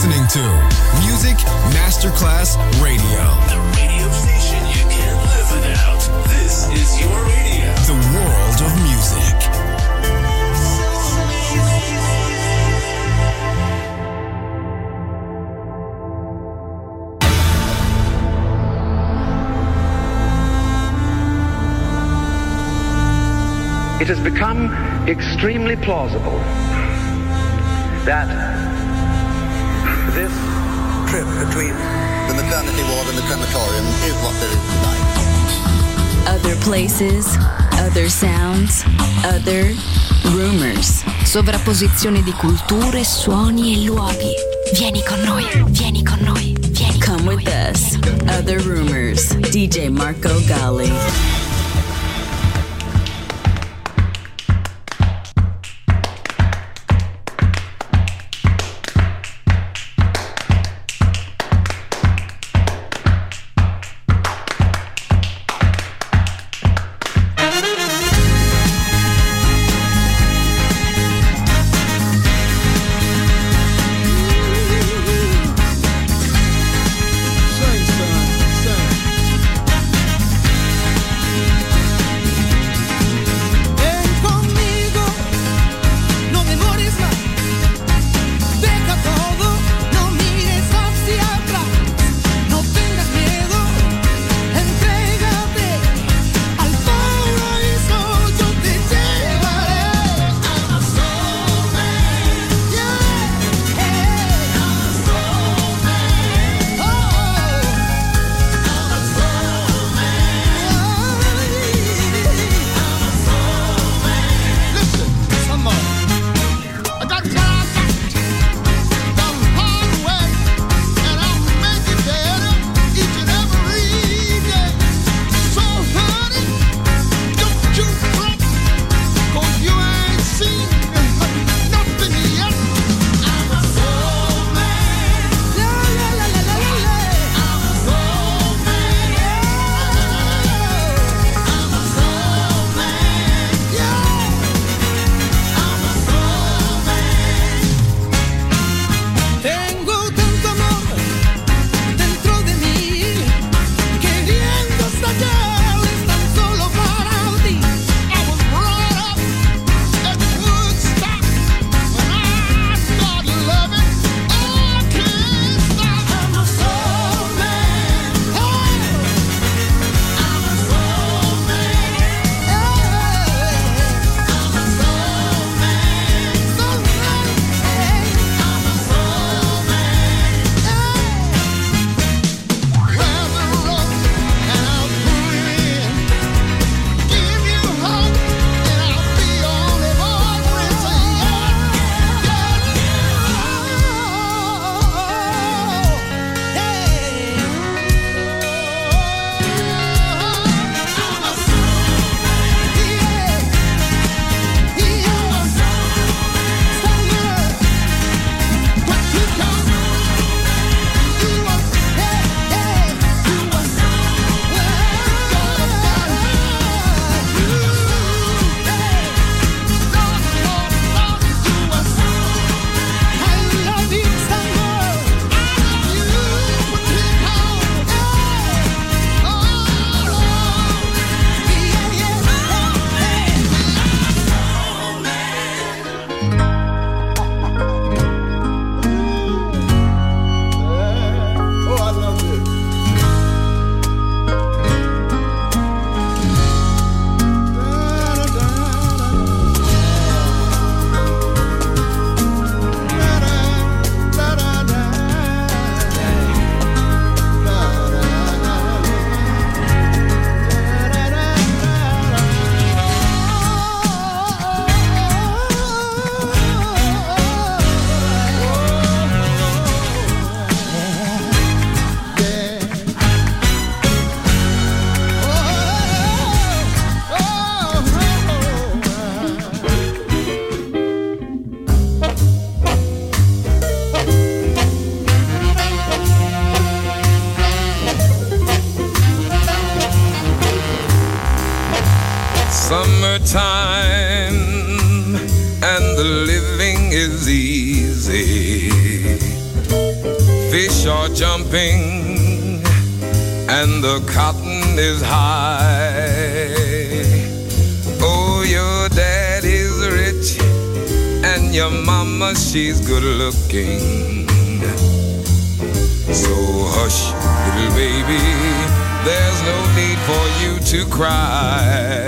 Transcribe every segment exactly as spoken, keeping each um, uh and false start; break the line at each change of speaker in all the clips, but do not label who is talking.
listening to Music Masterclass Radio.
The radio station you can't live without. This is your radio.
The world of music.
It has become extremely plausible that this trip between
the maternity ward and the crematorium is what there is tonight.
Other places, other sounds, other rumors. Sovrapposizione di culture, suoni e luoghi. Vieni con noi, vieni con noi, vieni con Come with us. Other Rumors. D J Marco Gally.
Summertime and the living is easy. jumping and the cotton is high. Oh, your dad is rich and your mama, she's good looking. So hush, little baby, there's no need for you to cry.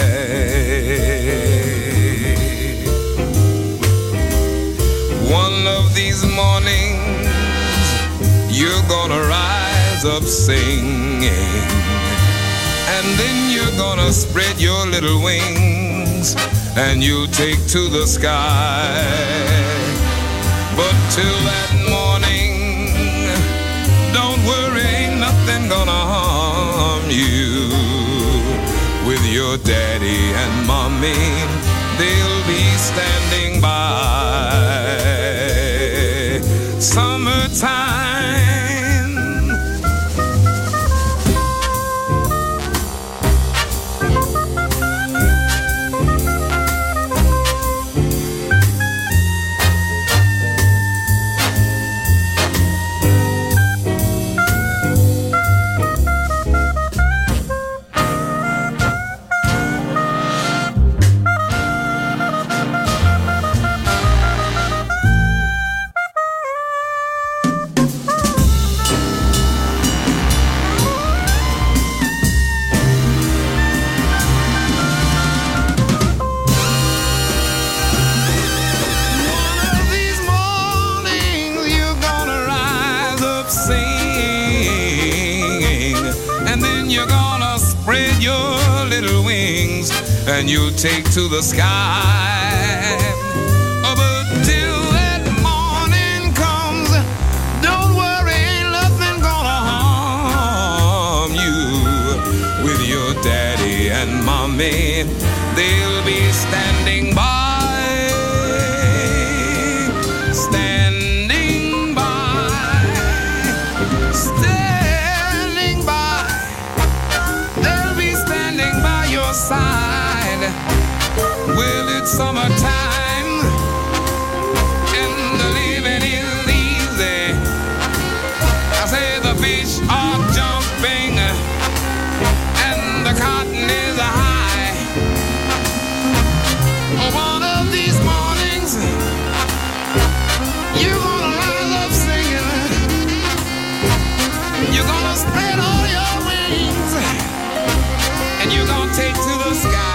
One of these mornings you're gonna rise up singing, and then you're gonna spread your little wings and you'll take to the sky. But till that morning, don't worry, ain't nothing gonna harm you. With your daddy and mommy, they'll be standing by. Summertime, and you'll take to the sky. Oh, but till that morning comes, don't worry, ain't nothing gonna harm you. With your daddy and mommy, they'll be standing by, standing by, standing by. They'll be standing by your side. Well, it's summertime and the living is easy. I say the fish are jumping and the cotton is high. One of these mornings you're gonna rise up singing. You're gonna spread all your wings and you're gonna take to the sky.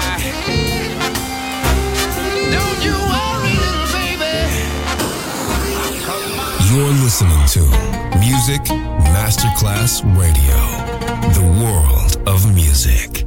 You're listening to Music Masterclass Radio, the world of music.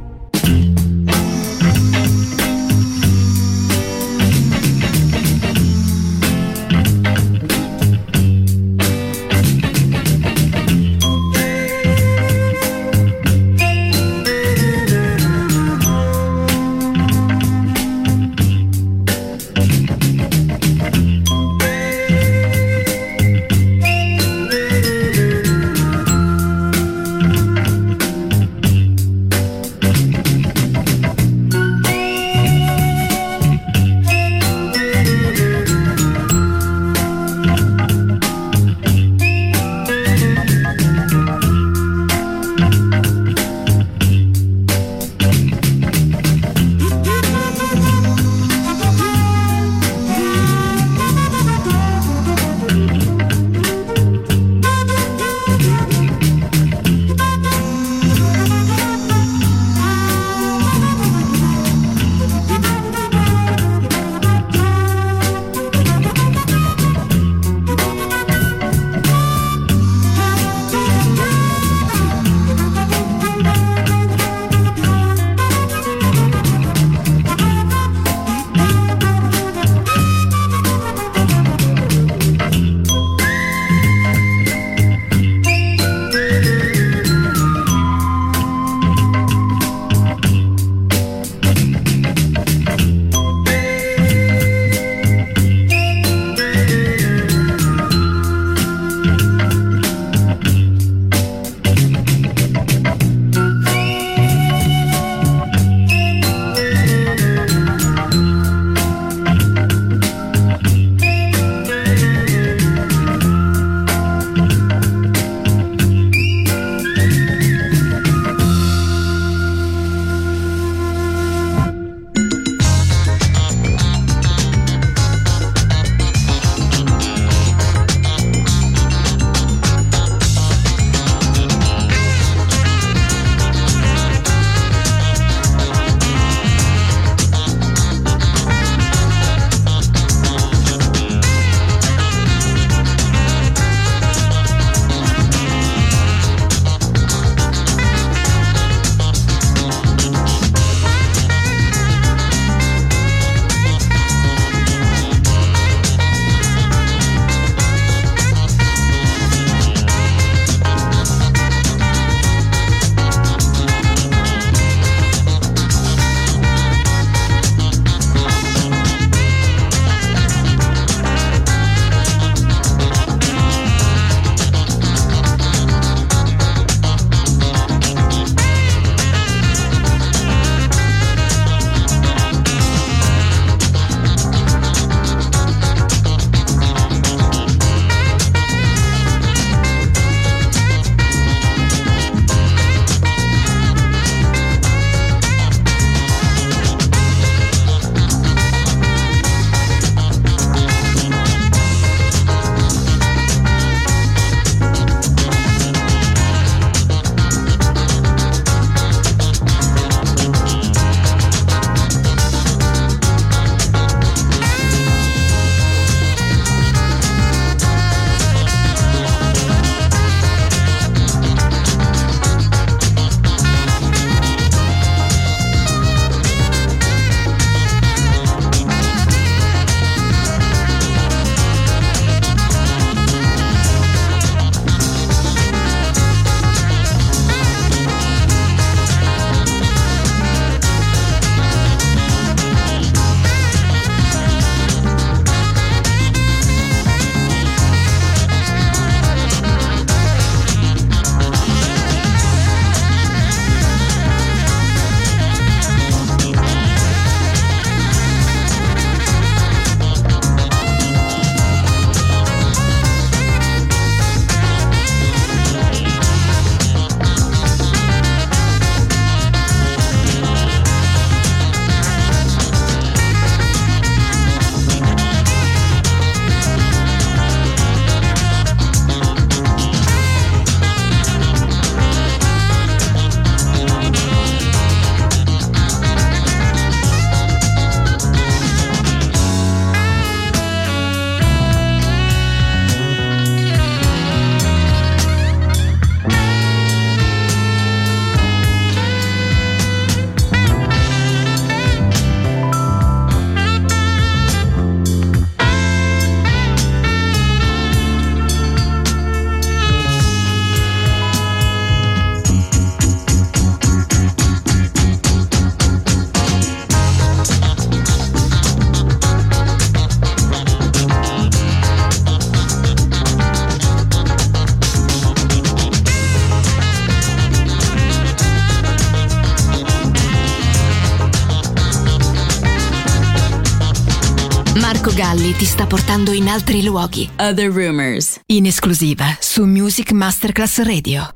Galli ti sta portando in altri luoghi. Other Rumors, in esclusiva su Music Masterclass Radio.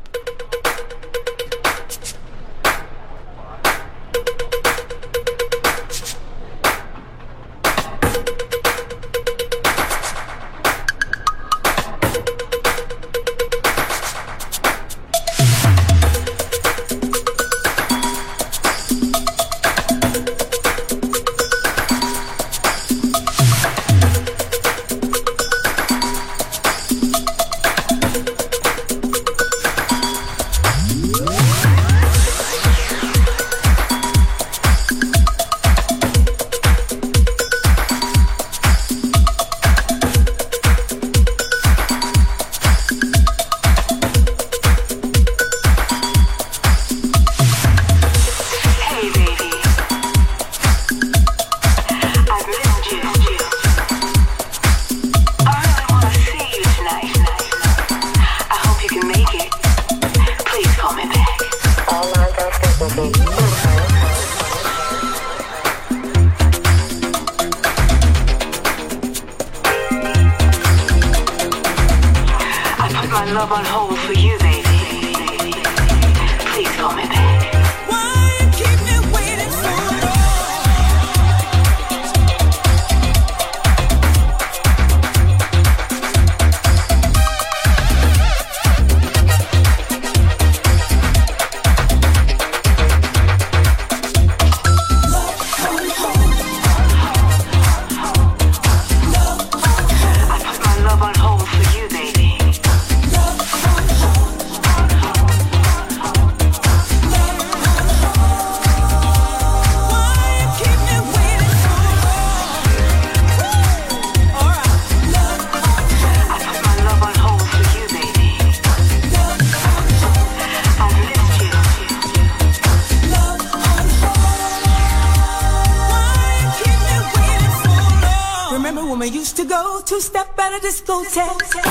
Two-step at a discotheque.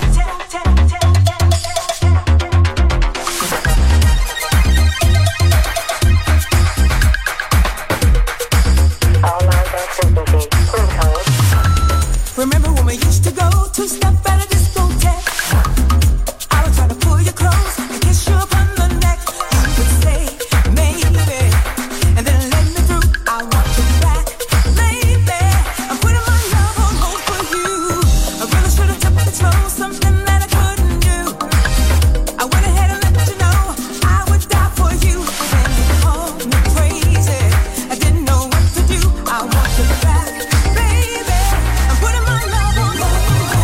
Remember when we used to go two-step at a discotheque? I would try to pull you close and kiss you upon the neck. You would say, maybe, and then let me through. I want you back, baby. I'm putting my love on hold for you. I really should have took it slow, something that I couldn't do. I went ahead and let you know I would die for you. And you called me crazy. I didn't know what to do. I want you back, baby. I'm putting my love on hold.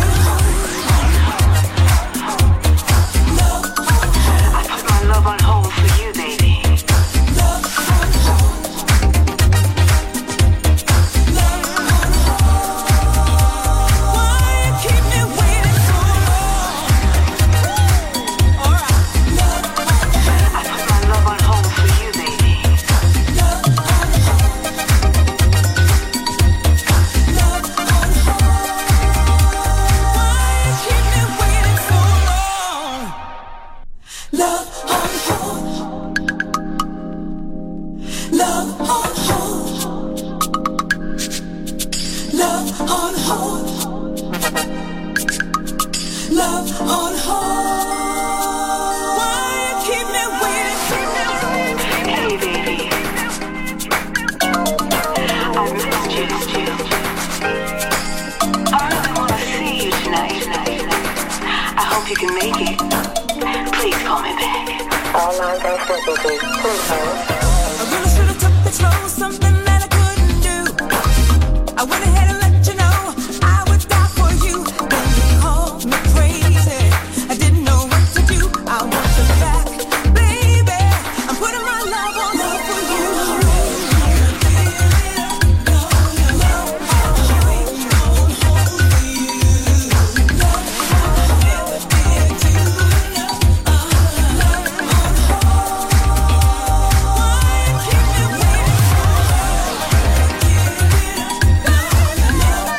I put my love on hold for you, baby.
Why you keep me waiting so long? Alright.
I put my love on hold for you, baby.
Why you keep me waiting so long? Love on hold. Love on hold. Love on hold. Love on hold. Why you keep me waiting?
Hey, baby. I missed you. I really want to see you tonight. I hope you can make it. Please call me back.
I really should have took it slow, something that I couldn't do. I went ahead and let you know I would die for you. Then you called me crazy. I didn't know what to do. I want you back, baby. I'm putting my love on hold for you. Why you keep me waiting?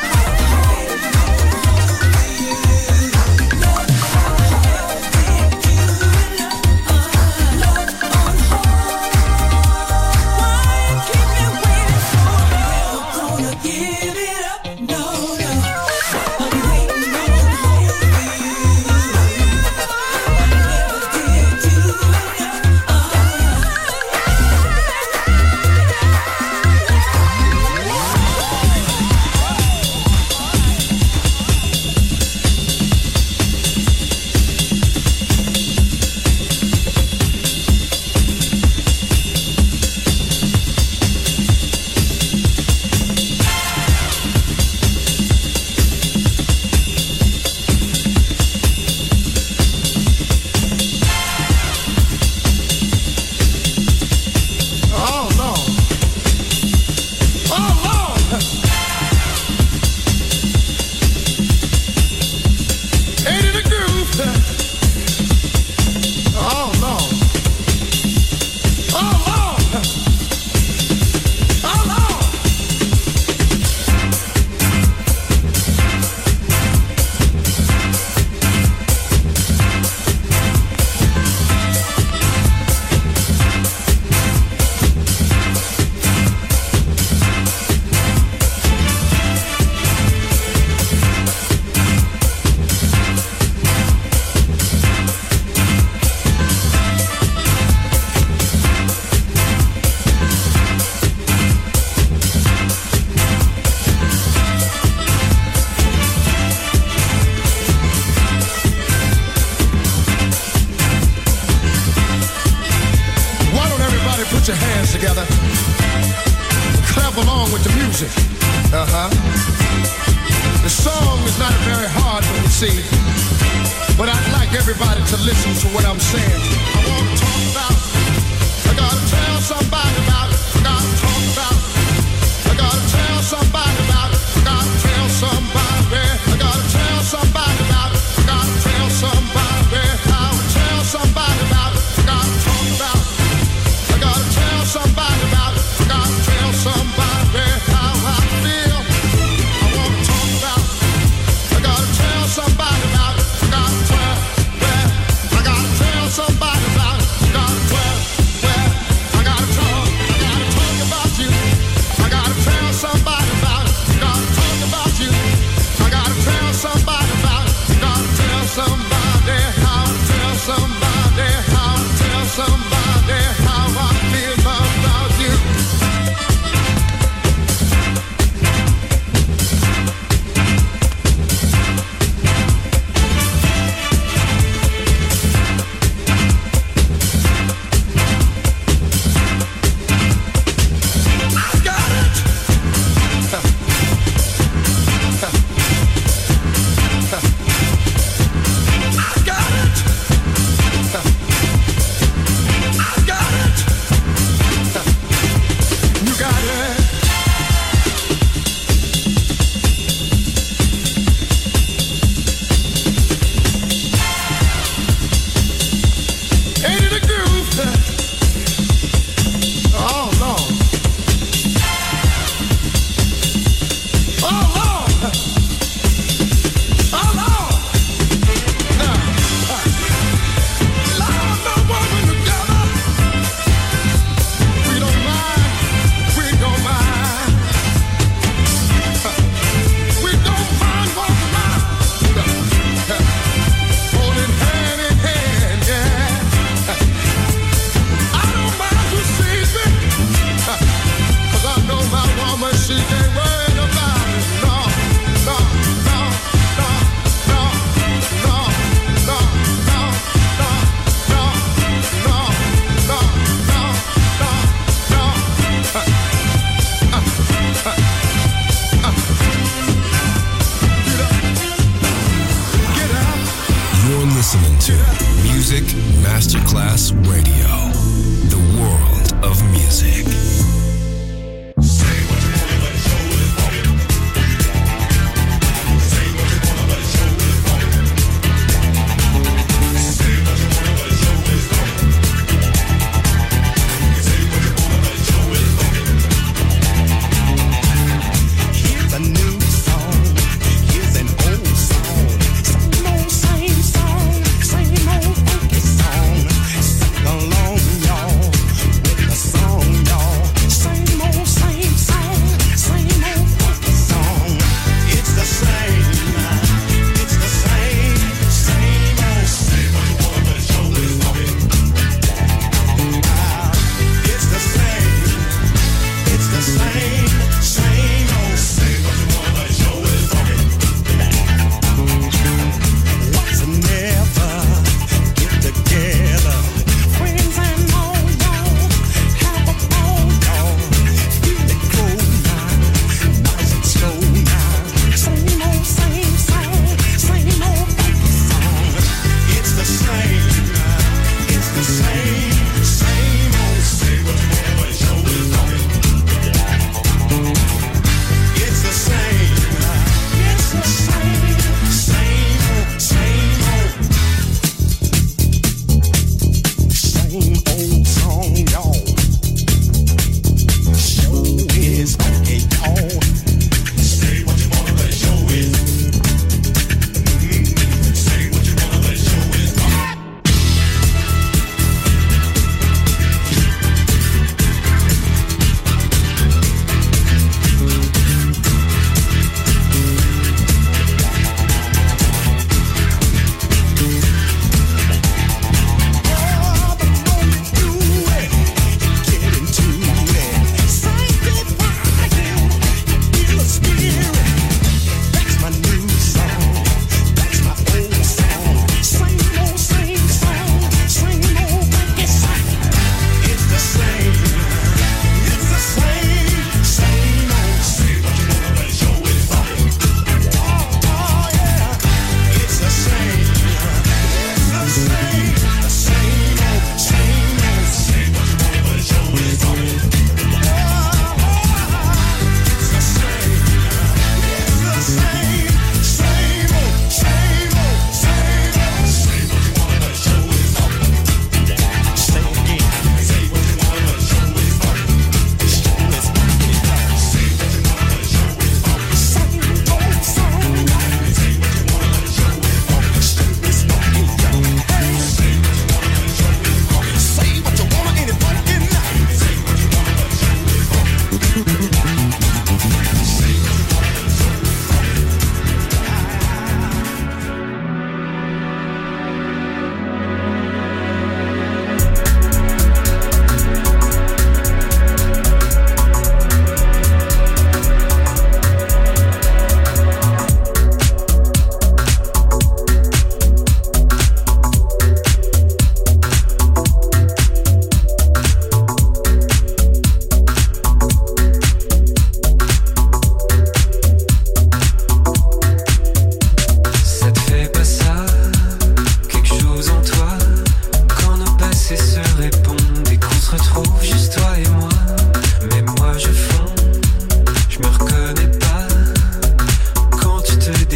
See, but I'd like everybody to listen to what I'm saying. I want to talk about it. I gotta tell somebody about it. I gotta talk about it. I gotta tell somebody about it. I gotta tell somebody. I gotta tell somebody about it. I gotta tell somebody. I will tell somebody about it. I gotta talk about it. I gotta tell somebody about it. I gotta tell somebody how I feel. I want to talk about it. I gotta tell somebody about it. I gotta tell, well, I gotta tell somebody about it. I gotta tell, well, I gotta talk, I gotta talk about you. I gotta tell somebody about it. I gotta talk about you. I gotta tell somebody about it. I gotta tell somebody how to tell somebody how to tell somebody how I feel about you.
listening to Music Masterclass Radio, the world of music.
Same old funky song, sing along, y'all.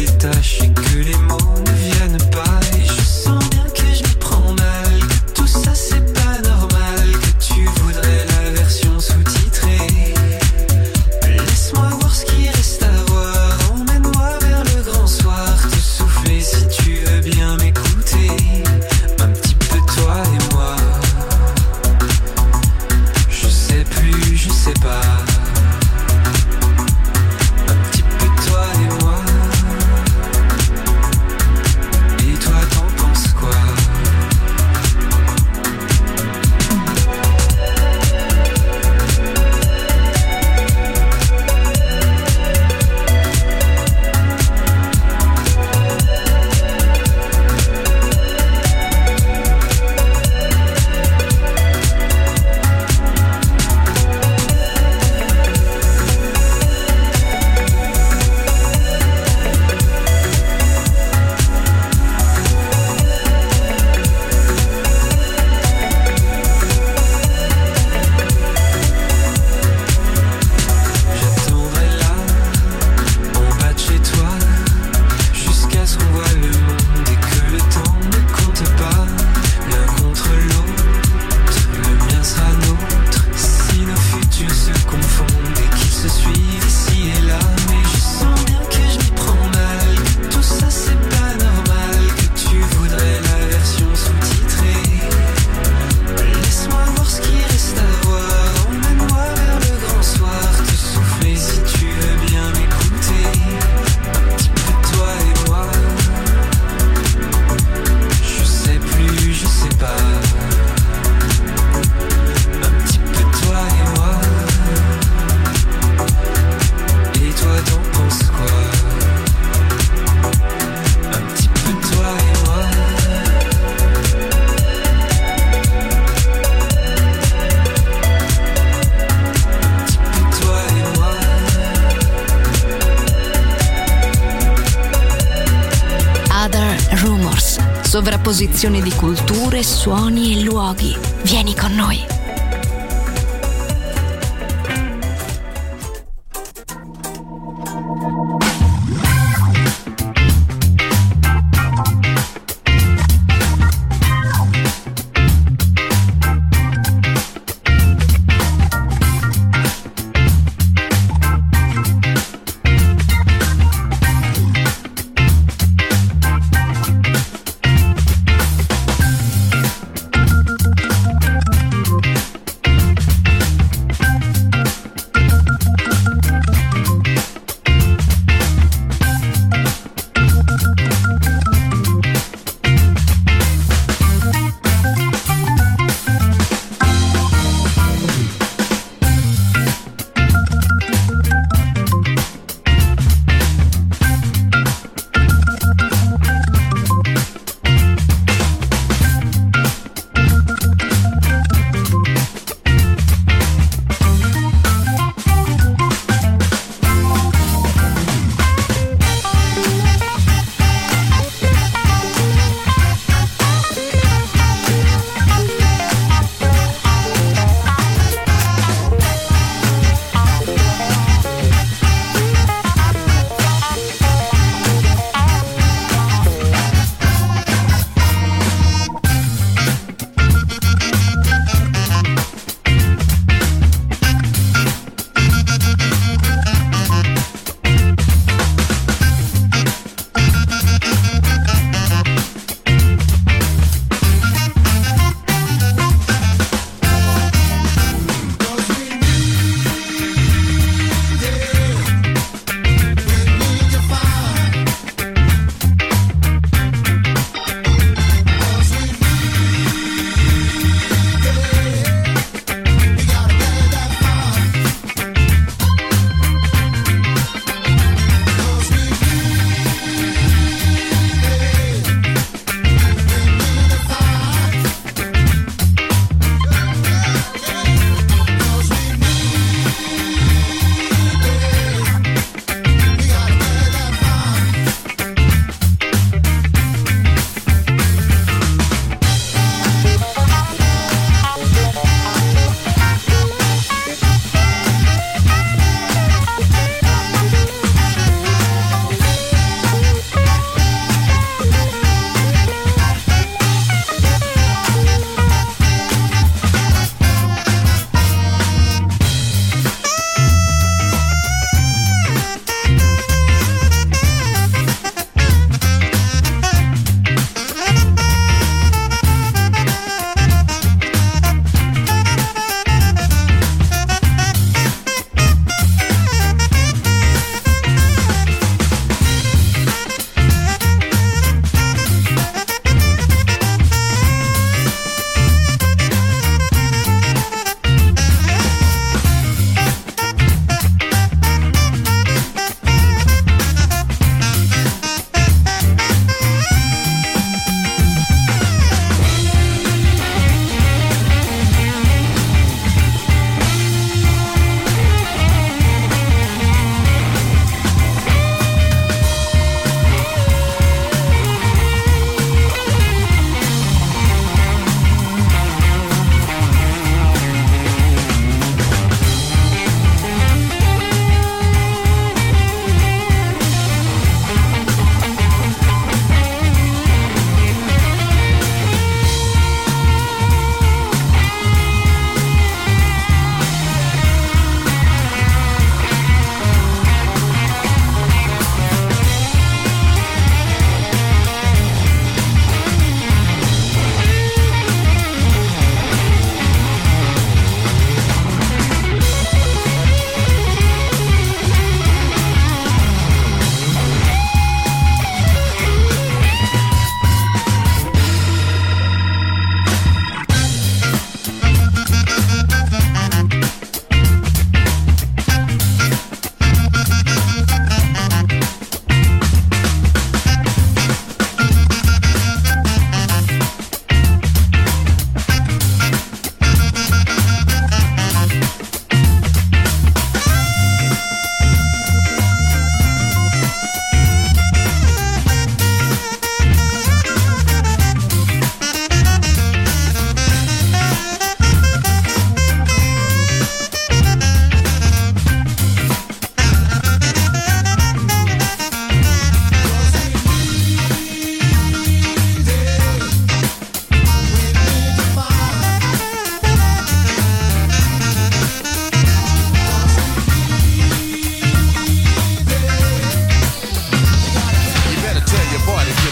détache et que les mots ne viennent pas. Et je sens bien que je m'y prends mal, que tout ça c'est pas normal, que tu voudrais la version sous-titrée. Laisse-moi voir ce qu'il reste à voir, emmène-moi vers le grand soir, te souffler si tu veux bien m'écouter, un petit peu toi et moi. Je sais plus, je sais pas.
Sovrapposizione di culture, suoni e luoghi. Vieni con noi.
Thank you.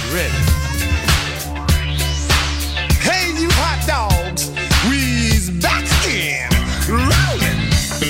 ready. Hey, you hot dogs, we's back again, rolling.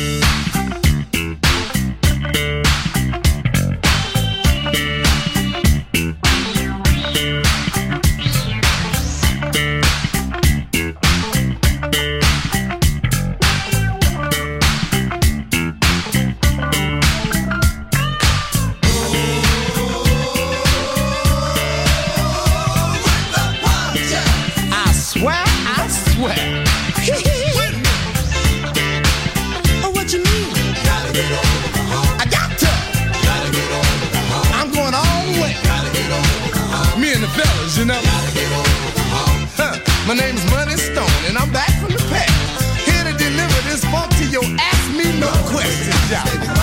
You know, huh. My name is Money Stone, and I'm back from the past, here to deliver this funk to your ask me no questions, y'all.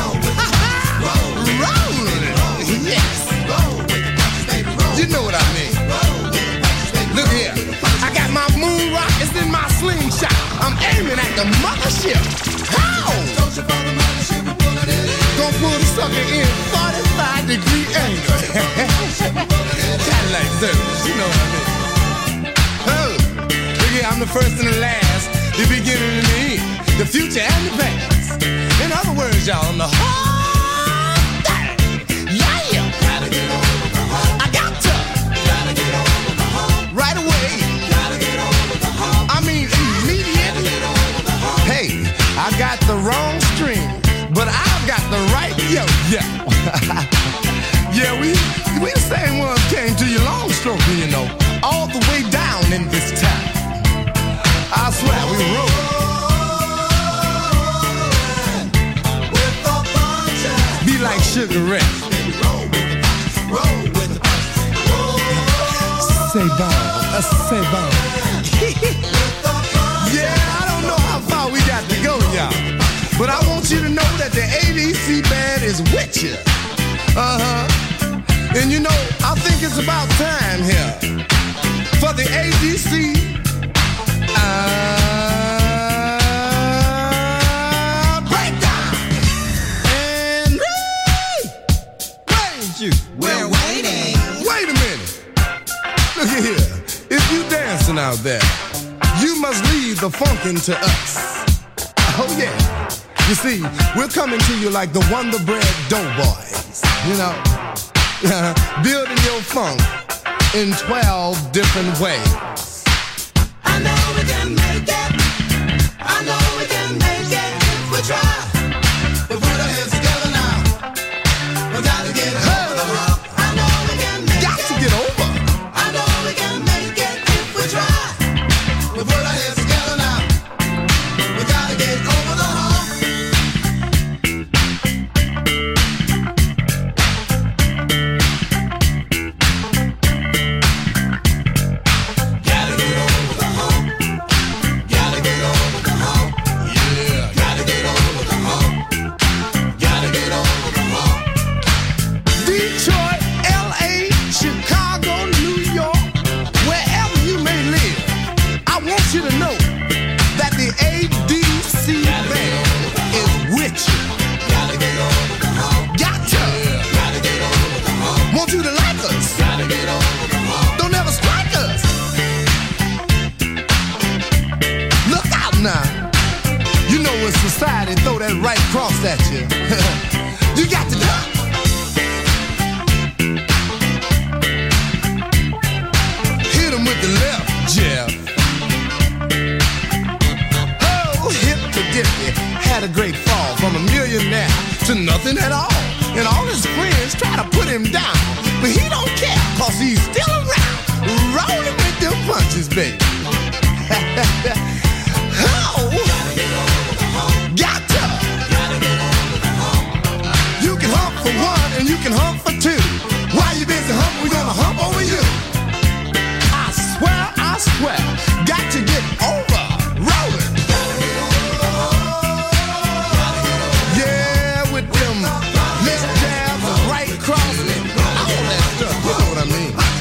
Rolling, yes. You know what I mean. Look here, I got my moon rockets in my slingshot. I'm aiming at the mothership. How? Gonna pull the sucker in forty-five degree angle. Cadillac service, you know what I mean. Oh, look here, I'm the first and the last, the beginning and the end, the future and the past. In other words, y'all, I'm the whole thing. Yeah. Gotta get over the hump. I got to. Gotta get over the hump. Right away. Gotta get over the hump. I mean, immediately. Gotta get over the hump. Hey, I got the wrong string, but I've got the right yo. Yeah. Yeah, we we the same ones came to your long stroke, you know, all the way down in this town. I swear we roll. Be like Sugar Ray. Say bon, uh, say bon. Yeah, I don't know how far we got to go, y'all, but I want you to know that the A D C band is with you. Uh-huh. And you know, I think it's about time here for the A D C uh, breakdown. And wait, you. We're waiting. Wait a minute. Look at here. If you dancing out there, you must leave the funkin' to us. Oh yeah. You see, we're coming to you like the Wonder Bread Doughboys. You know. Uh, building your funk in twelve different ways. I know we can make it. I know we can make it if we try. We put our heads together now. We gotta get over the hump. I know we can make got it. Got to get over. I know we can make it if we try. We put our heads together now. We gotta get over the hump. Society throw that right cross at you. You got to duck. Hit him with the left jab. Oh, hip to dippy. Had a great fall from a millionaire to nothing at all. And all his friends try to put him down, but he don't care, cause he's still around, rolling with them punches, baby. Oh, got to. You can hump for one and you can hump for two. While you busy humping, we gonna hump over you. I swear, I swear, got to get over rolling. Yeah, with them left jabs and right crosses, all that stuff. You know what I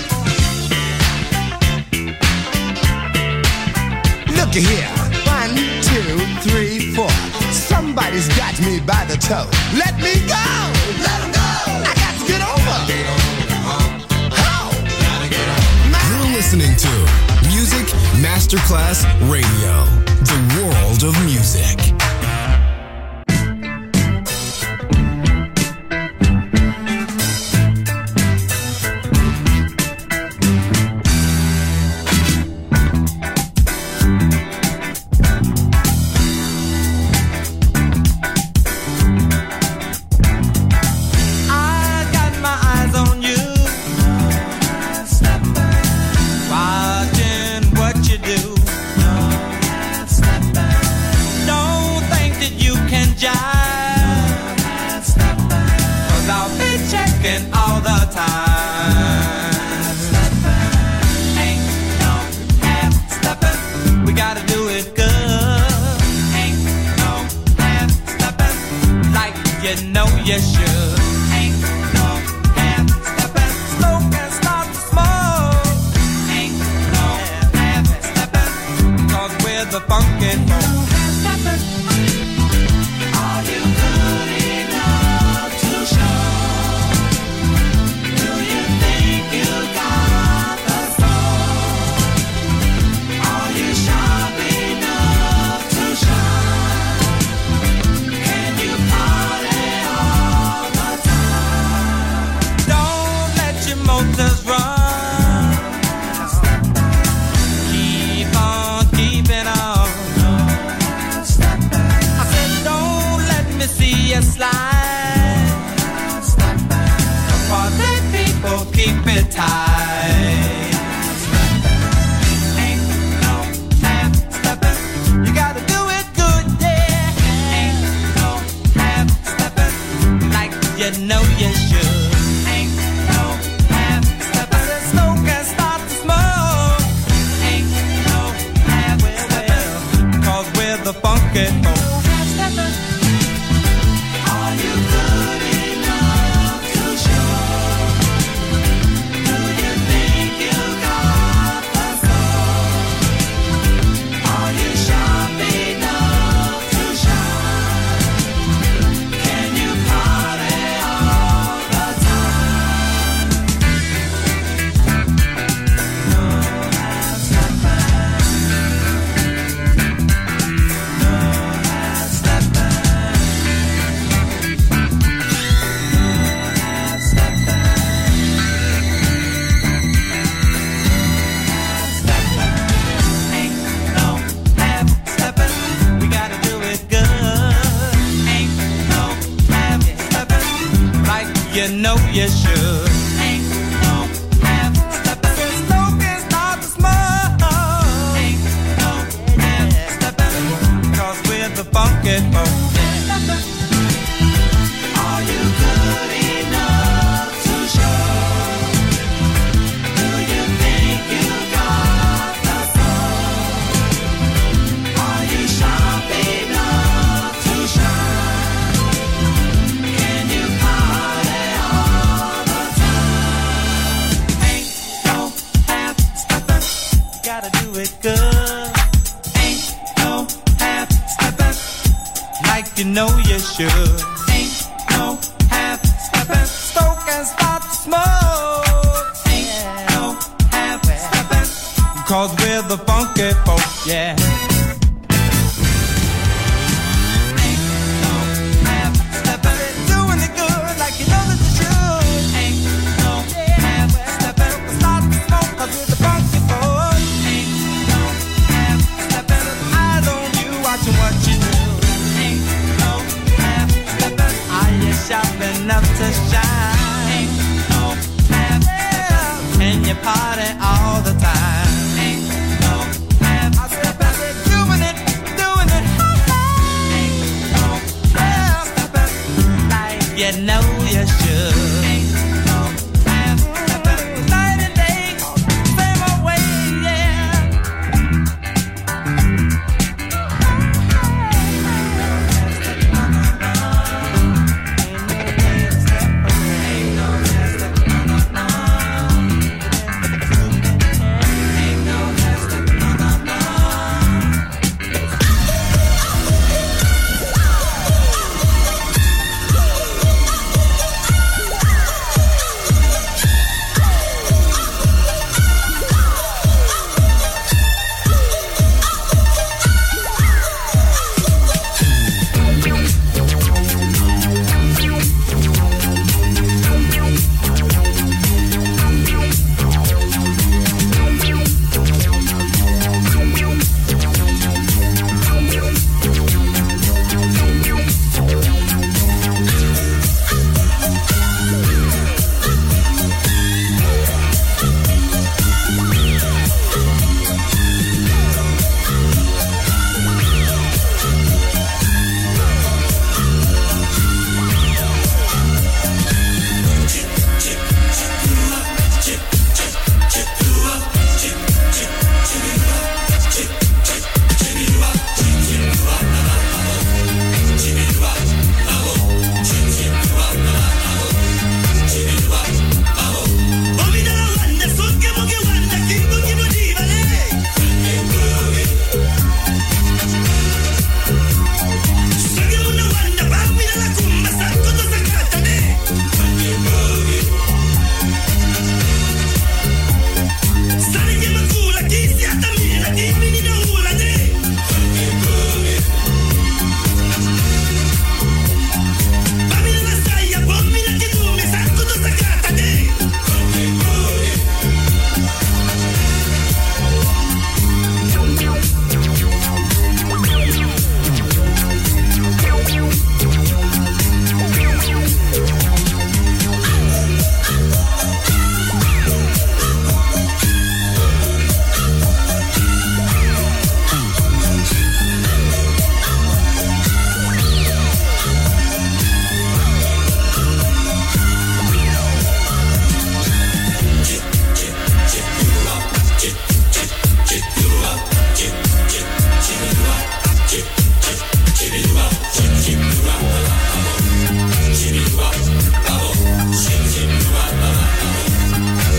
mean? Look here. One, two, three, four. Somebody's got me by the toe. Let me go. Let him go. I got to get over. How?
listening to Music Masterclass Radio, the world of music.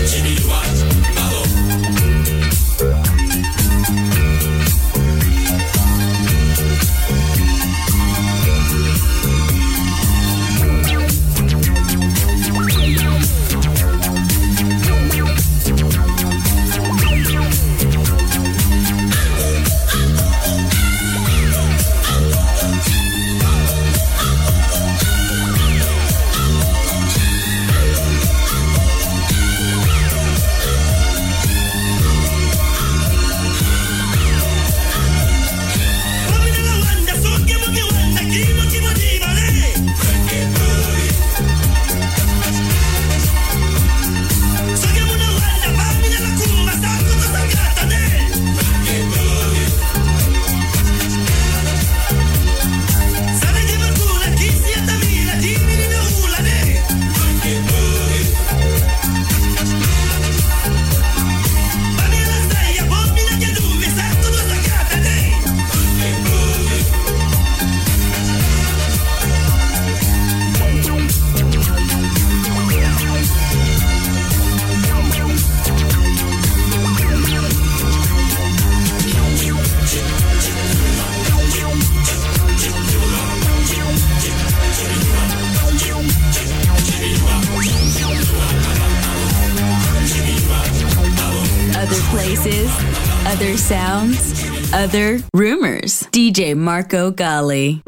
places, other sounds, other rumors. D J Marco Gally.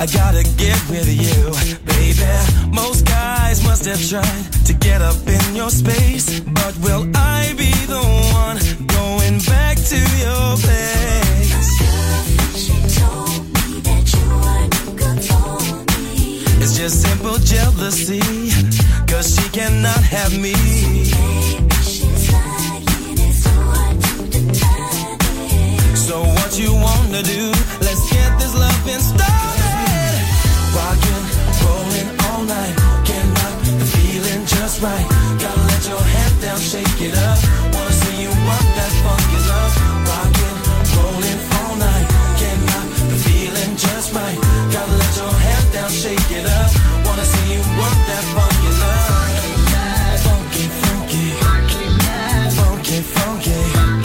I gotta get with you, baby. Most guys must have tried to get up in your space, but will I be the one going back to your place? She told me that you weren't good for me. It's just simple jealousy, cause she cannot have me. She's lying, it's hard to deny it. So what you wanna do? Let's get this loving started. Rockin', rollin' all night, can't knock the feeling just right. Gotta let your head down, shake it up. Wanna see you work that funky love. Rockin', rollin' all night, can't knock the feeling just right. Gotta let your head down, shake it up. Wanna see you work that funky love. Funky, funky, funky, funky.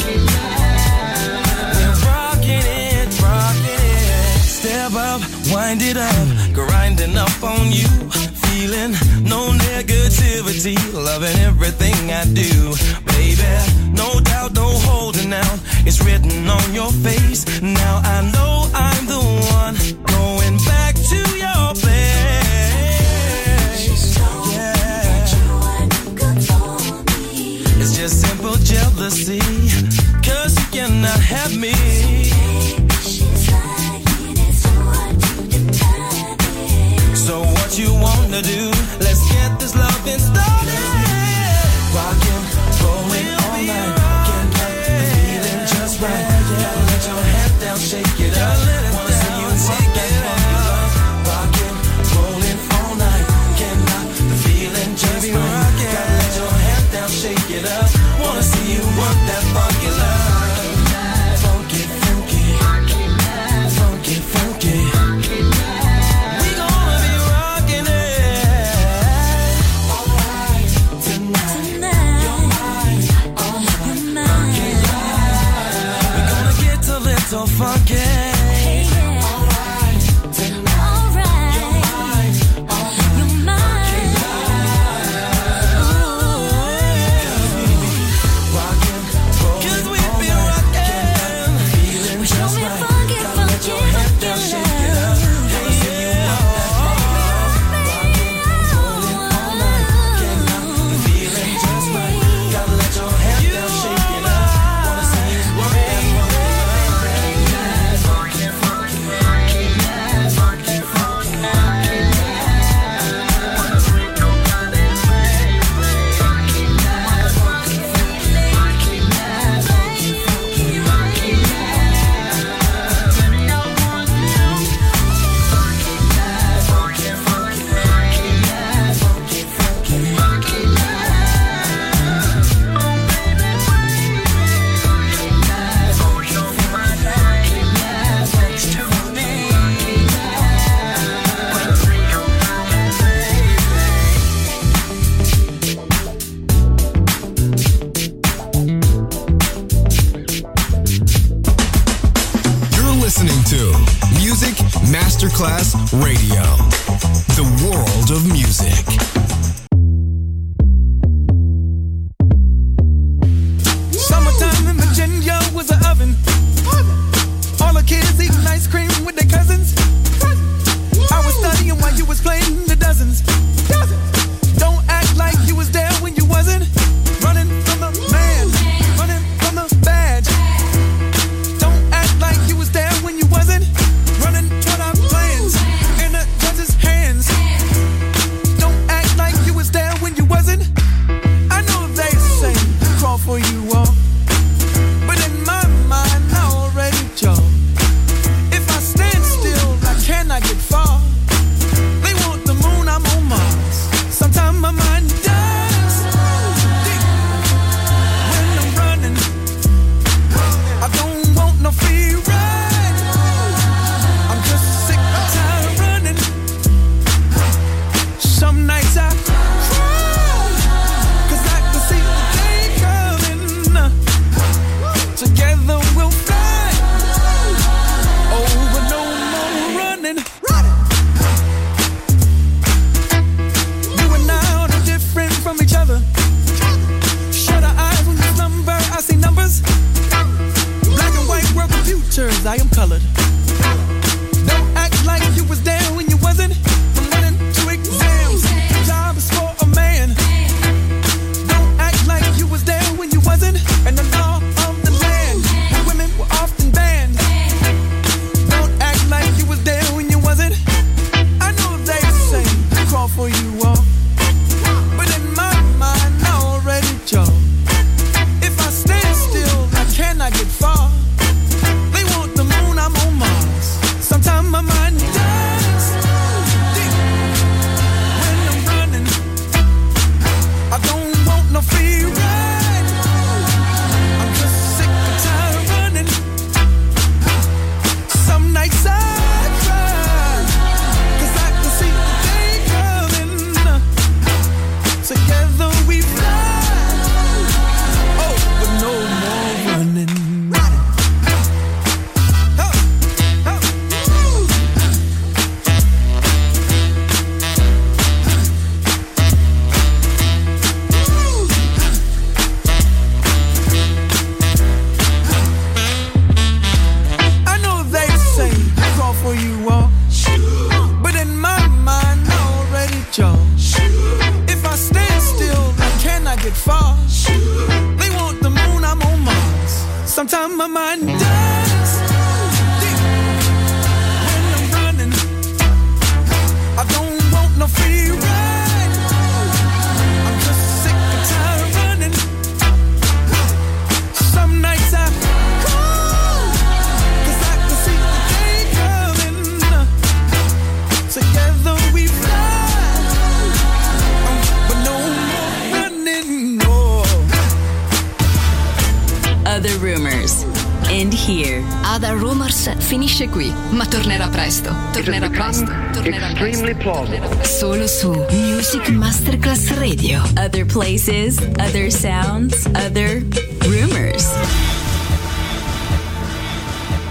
We're rockin' it, rockin' it. Step up, wind it up, grinding up on you. Feeling no negativity, loving everything I do. Baby, no doubt, no holding out. It's written on your face. Now I know I'm the one going back to your place. Yeah. It's just simple jealousy, cause you cannot have me. So what you wanna do? Let's get this loving started. Rockin', rollin' all night, can't knock the feeling just right. Gotta let your head down, shake it up. Wanna see you work that funky love. Rockin', rollin' all night, can't knock the feeling just right. Gotta let your head down, shake it up. Wanna see you work that funky love. Funky, funky, funky, funky. So funky. Hey, yeah. Alright, tonight. Alright. You're mine. You're mine. Rockin', rollin', cause we be rockin'. Feeling just right. Funky, gotta let your head down, shake it up. Wanna see you rock that funky love. Rockin', rollin' all night. Can't knock the feeling just right. Gotta let your head down, shake it up. Wanna see you work that funky love.
Listening to Music Masterclass Radio, the world of music.
Summertime in Virginia was an oven. All the kids eating ice cream with their cousins. I was studying while you was playing the dozens. Don't act like you was there when you wasn't. Running from the man, running from the badge. Like you was there when you wasn't. Running toward our plans in the judge's hands. Don't act like you was there when you wasn't. I know they say crawl for you all, but in my mind I already chose. If I stand still, I cannot get far. They want the moon, I'm on Mars.
Other Rumors. And here, Other Rumors finisce qui, ma tornerà presto. Tornerà presto. Tornerà
extremely plausible.
Solo su Music Masterclass Radio. Other places, other sounds, other rumors.